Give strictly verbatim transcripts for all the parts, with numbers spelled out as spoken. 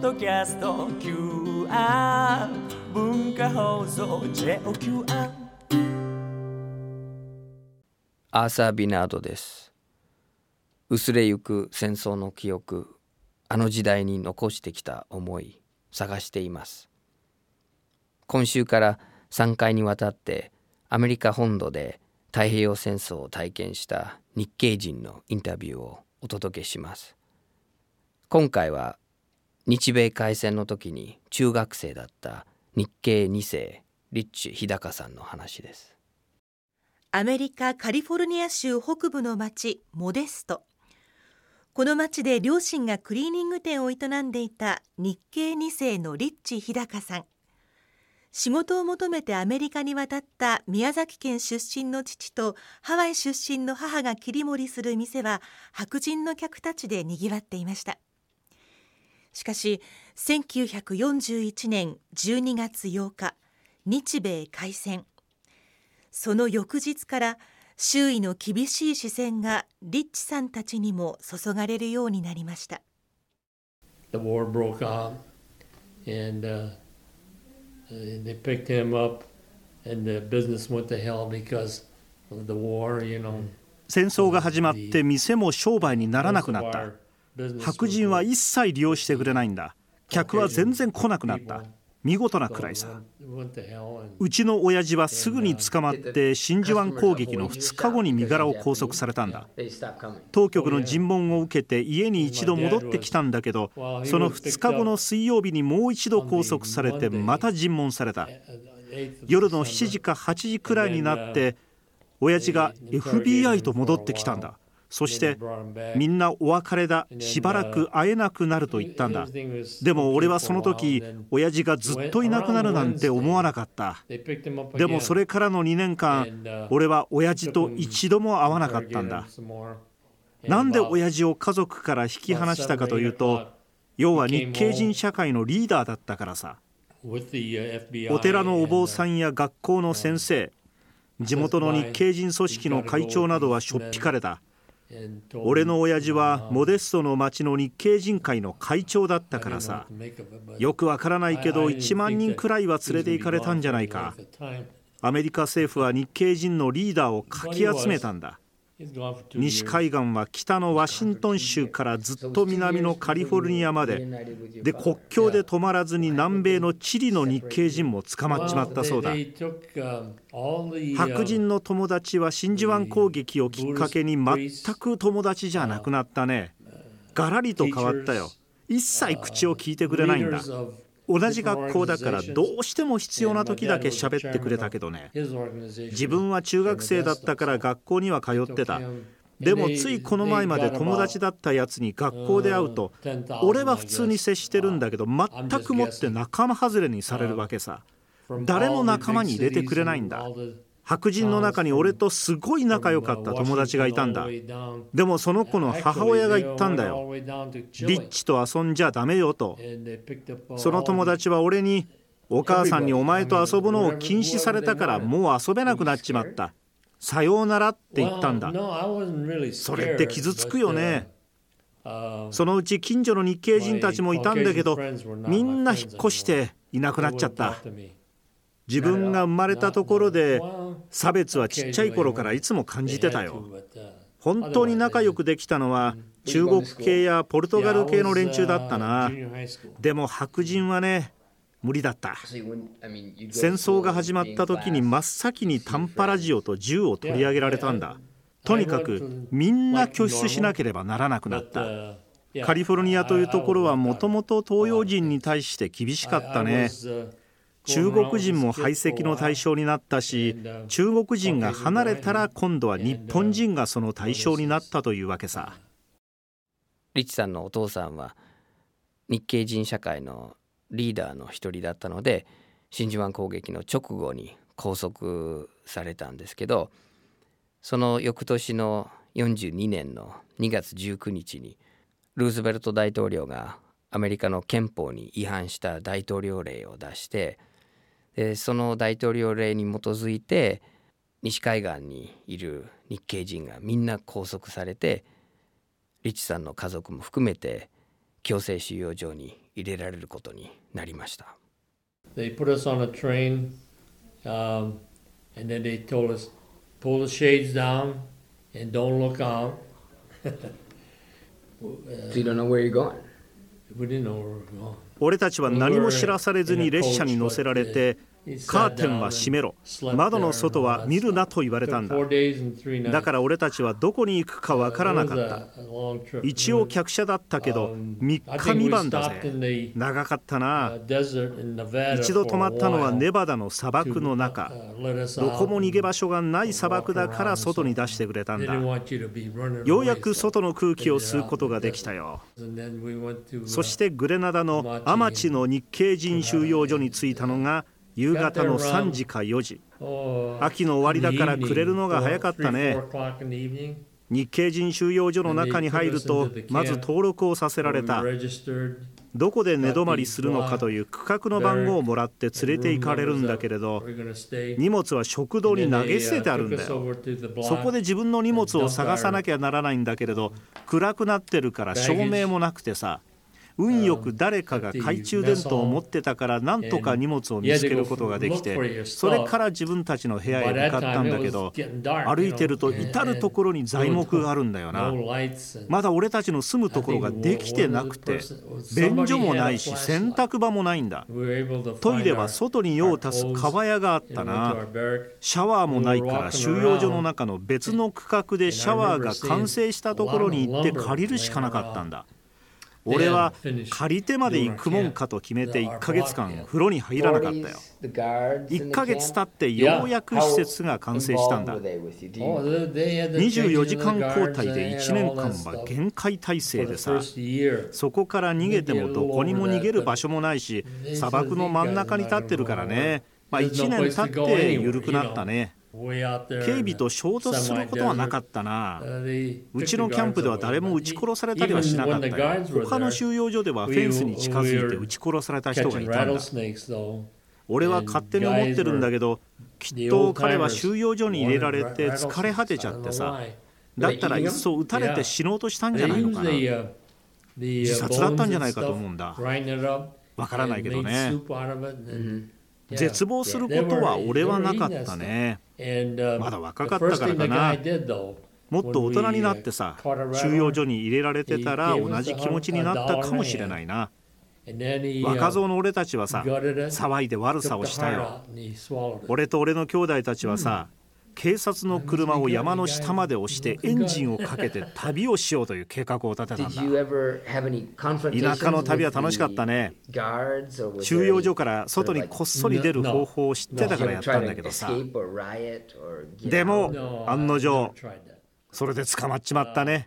ドキャスト キューアール 文化放送 ジェイオーキューアール。 アーサー・ビナードです。薄れゆく戦争の記憶、あの時代に残してきた思い、探しています。今週からさんかいにわたってアメリカ本土で太平洋戦争を体験した日系人のインタビューをお届けします。今回は日米開戦の時に中学生だった日系に世リッチ日高さんの話です。 アメリカカリフォルニア州北部の町モデスト。この町で両親がクリーニング店を営んでいた日系に世のリッチ日高さん。仕事を求めてアメリカに渡った宮崎県出身の父とハワイ出身の母が切り盛りする店は白人の客たちでにぎわっていました。しかしせんきゅうひゃくよんじゅういちねんじゅうにがつようか、日米開戦。その翌日から周囲の厳しい視線がリッチさんたちにも注がれるようになりました。 The war broke out and、uh, they picked him up and the business went to hell because of the war, you know. 戦争が始まって店も商売にならなくなった。白人は一切利用してくれないんだ。客は全然来なくなった。見事なくらいさ。うちの親父はすぐに捕まって真珠湾攻撃のふつかごに身柄を拘束されたんだ。当局の尋問を受けて家に一度戻ってきたんだけど、そのふつかごの水曜日にもう一度拘束されてまた尋問された。夜のしちじかはちじくらいになって親父が エフビーアイ と戻ってきたんだ。そしてみんなお別れだ、しばらく会えなくなると言ったんだ。でも俺はその時親父がずっといなくなるなんて思わなかった。でもそれからのにねんかん俺は親父と一度も会わなかったんだ。なんで親父を家族から引き離したかというと、要は日系人社会のリーダーだったからさ。お寺のお坊さんや学校の先生、地元の日系人組織の会長などはしょっぴかれた。俺の親父はモデストの町の日系人会の会長だったからさ。よくわからないけどいちまんにんくらいは連れて行かれたんじゃないか。アメリカ政府は日系人のリーダーをかき集めたんだ。西海岸は北のワシントン州からずっと南のカリフォルニアまでで、国境で止まらずに南米のチリの日系人も捕まっちまったそうだ。白人の友達は真珠湾攻撃をきっかけに全く友達じゃなくなったね。ガラリと変わったよ。一切口を聞いてくれないんだ。同じ学校だからどうしても必要な時だけ喋ってくれたけどね。自分は中学生だったから学校には通ってた。でもついこの前まで友達だったやつに学校で会うと、俺は普通に接してるんだけど全くもって仲間外れにされるわけさ。誰も仲間に入れてくれないんだ。白人の中に俺とすごい仲良かった友達がいたんだ。でもその子の母親が言ったんだよ。リッチと遊んじゃダメよと。その友達は俺に、お母さんにお前と遊ぶのを禁止されたからもう遊べなくなっちまった。さようならって言ったんだ。それって傷つくよね。そのうち近所の日系人たちもいたんだけど、みんな引っ越していなくなっちゃった。自分が生まれたところで差別はちっちゃい頃からいつも感じてたよ。本当に仲良くできたのは中国系やポルトガル系の連中だったな。でも白人はね、無理だった。戦争が始まった時に真っ先に短波ラジオと銃を取り上げられたんだ。とにかくみんな拠出しなければならなくなった。カリフォルニアというところはもともと東洋人に対して厳しかったね。中国人も排斥の対象になったし、中国人が離れたら今度は日本人がその対象になったというわけさ。 リッチさんのお父さんは日系人社会のリーダーの一人だったので、真珠湾攻撃の直後に拘束されたんですけど、その翌年のよんじゅうにねんのにがつじゅうくにちにルーズベルト大統領がアメリカの憲法に違反した大統領令を出して、でその大統領令に基づいて西海岸にいる日系人がみんな拘束されて、リッチさんの家族も含めて強制収容所に入れられることになりました。 They put us on a train, um, and then they told us, pull the shades down and don't look out. So you don't know where you're going? We didn't know where we were going. 俺たちは何も知らされずに列車に乗せられて、カーテンは閉めろ、窓の外は見るなと言われたんだ。だから俺たちはどこに行くかわからなかった。一応客車だったけどみっかみばんだぜ。長かったな。一度泊まったのはネバダの砂漠の中。どこも逃げ場所がない砂漠だから外に出してくれたんだ。ようやく外の空気を吸うことができたよ。そしてグレナダのアマチの日系人収容所に着いたのが夕方のさんじかよじ。秋の終わりだから暮れるのが早かったね。日系人収容所の中に入るとまず登録をさせられた。どこで寝泊まりするのかという区画の番号をもらって連れて行かれるんだけれど、荷物は食堂に投げ捨ててあるんだよ。そこで自分の荷物を探さなきゃならないんだけれど、暗くなってるから照明もなくてさ、運よく誰かが懐中電灯を持ってたからなんとか荷物を見つけることができて、それから自分たちの部屋へ向かったんだけど、歩いてると至る所に材木があるんだよな。まだ俺たちの住むところができてなくて、便所もないし洗濯場もないんだ。トイレは外に用を足す川屋があったな。シャワーもないから収容所の中の別の区画でシャワーが完成したところに行って借りるしかなかったんだ。俺は借りてまで行くもんかと決めていっかげつかん風呂に入らなかったよ。いっかげつ経ってようやく施設が完成したんだ。にじゅうよじかん交代でいちねんかんは厳戒態勢でさ、そこから逃げてもどこにも逃げる場所もないし、砂漠の真ん中に立ってるからね、まあ、いちねん経って緩くなったね。警備と衝突することはなかったな。うちのキャンプでは誰も撃ち殺されたりはしなかったよ。他の収容所ではフェンスに近づいて撃ち殺された人がいたんだ。俺は勝手に思ってるんだけど、きっと彼は収容所に入れられて疲れ果てちゃってさ、だったらいっそ撃たれて死のうとしたんじゃないのかな。自殺だったんじゃないかと思うんだ。わからないけどね。絶望することは俺はなかったね。まだ若かったからかな。もっと大人になってさ、収容所に入れられてたら同じ気持ちになったかもしれないな。若造の俺たちはさ、騒いで悪さをしたよ。俺と俺の兄弟たちはさ、警察の車を山の下まで押してエンジンをかけて旅をしようという計画を立てたんだ。田舎の旅は楽しかったね。収容所から外にこっそり出る方法を知ってたからやったんだけどさ、でも案の定それで捕まっちまったね。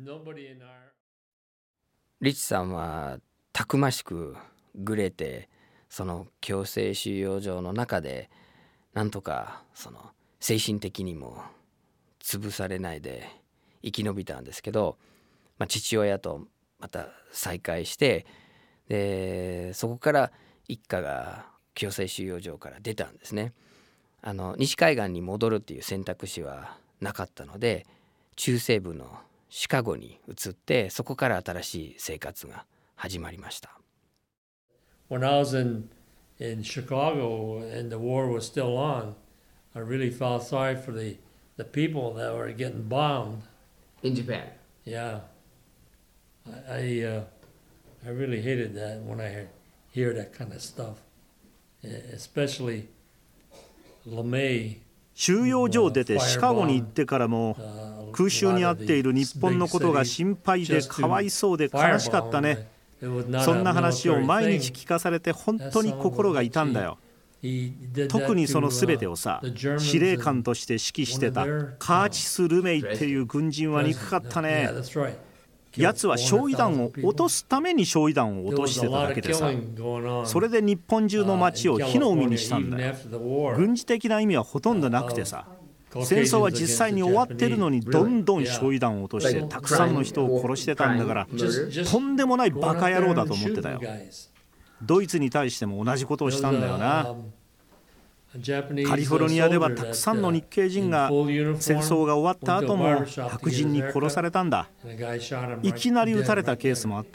リチさんはたくましくグレて、その強制収容所の中でなんとかその精神的にも潰されないで生き延びたんですけど、まあ、父親とまた再会して、でそこから一家が強制収容所から出たんですね。あの西海岸に戻るっていう選択肢はなかったので、中西部のシカゴに移って、そこから新しい生活が始まりました。 When I was in, in Chicago and the war was still on, I really felt sorry for the, the people that were getting bombed. In Japan? Yeah. I, I, uh, I really hated that when I hear that kind of stuff. Especially LeMay. 収容所を出てシカゴに行ってからも、空襲に遭っている日本のことが心配でかわいそうで悲しかったね。そんな話を毎日聞かされて本当に心が痛んだよ。特にその全てをさ、司令官として指揮してたカーチス・ルメイっていう軍人は憎かったね。やつは焼夷弾を落とすために焼夷弾を落としてただけでさ、それで日本中の町を火の海にしたんだよ。軍事的な意味はほとんどなくてさ、戦争は実際に終わってるのにどんどん焼夷弾を落としてたくさんの人を殺してたんだから、とんでもないバカ野郎だと思ってたよ。ドイツに対しても同じことをしたんだよな。カリフォルニアではたくさんの日系人が戦争が終わった後も白人に殺されたんだ。いきなり撃たれたケースもあったんだ。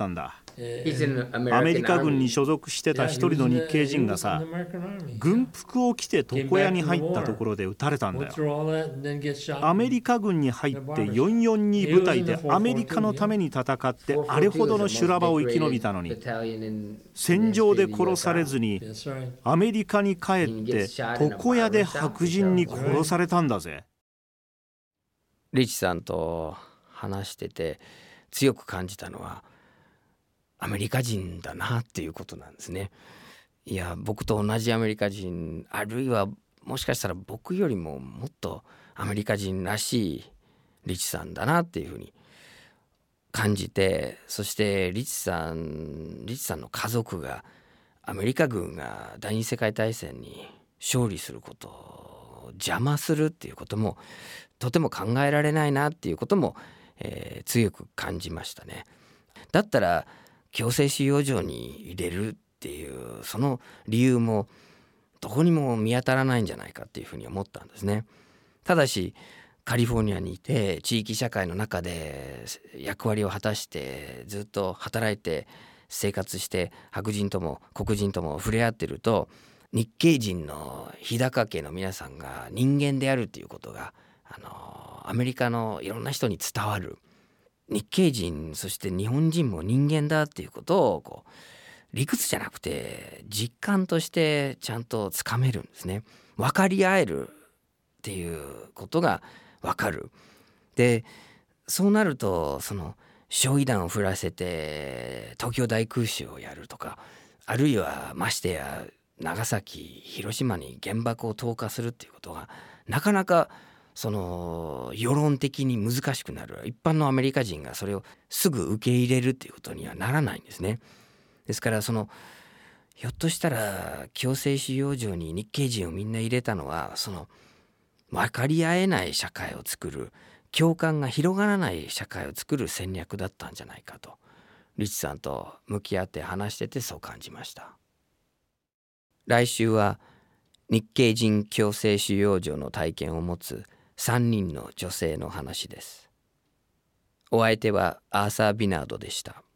アメリカ軍に所属してた一人の日系人がさ、軍服を着て床屋に入ったところで撃たれたんだよ。アメリカ軍に入ってよんよんに部隊でアメリカのために戦ってあれほどの修羅場を生き延びたのに、戦場で殺されずにアメリカに帰って床屋で白人に殺されたんだぜ。 リッチさんと話してて強く感じたのはアメリカ人だなっていうことなんですね。いや、僕と同じアメリカ人、あるいはもしかしたら僕よりももっとアメリカ人らしいリッチさんだなっていうふうに感じて、そしてリッチさんリッチさんの家族がアメリカ軍が第二次世界大戦に勝利することを邪魔するっていうこともとても考えられないなっていうことも、えー、強く感じましたね。だったら強制収容所に入れるっていうその理由もどこにも見当たらないんじゃないかっていうふうに思ったんですね。ただしカリフォルニアにいて地域社会の中で役割を果たしてずっと働いて生活して白人とも黒人とも触れ合ってると、日系人の日高家の皆さんが人間であるっていうことがあのアメリカのいろんな人に伝わる。日系人そして日本人も人間だっていうことをこう理屈じゃなくて実感としてちゃんとつかめるんですね。分かり合えるっていうことが分かる。でそうなるとその焼夷弾を降らせて東京大空襲をやるとか、あるいはましてや長崎広島に原爆を投下するっていうことがなかなかその世論的に難しくなる。一般のアメリカ人がそれをすぐ受け入れるっていうことにはならないんですね。ですからそのひょっとしたら強制収容所に日系人をみんな入れたのはその分かり合えない社会を作る、共感が広がらない社会を作る戦略だったんじゃないかとリッチさんと向き合って話しててそう感じました。来週は日系人強制収容所の体験を持つさんにんの女性の話です。お相手はアーサー・ビナードでした。